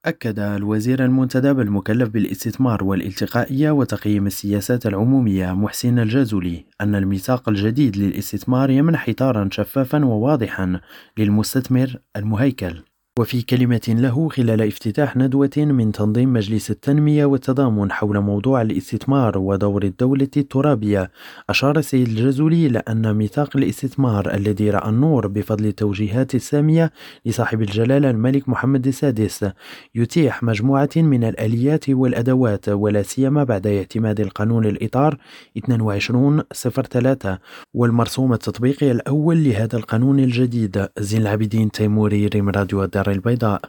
أكد الوزير المنتدب المكلف بالاستثمار والالتقائية وتقييم السياسات العمومية محسن الجازولي أن الميثاق الجديد للاستثمار يمنح إطارا شفافا وواضحا للمستثمر المهيكل. وفي كلمة له خلال افتتاح ندوة من تنظيم مجلس التنمية والتضامن حول موضوع الاستثمار ودور الدولة الترابية، أشار السيد الجازولي إلى أن ميثاق الاستثمار الذي رأى النور بفضل التوجيهات السامية لصاحب الجلالة الملك محمد السادس يتيح مجموعة من الآليات والأدوات، ولا سيما بعد اعتماد القانون الإطار 2203 والمرسوم التطبيقي الأول لهذا القانون الجديد. زين العابدين تيموري، ريم راديو الدار البيضاء.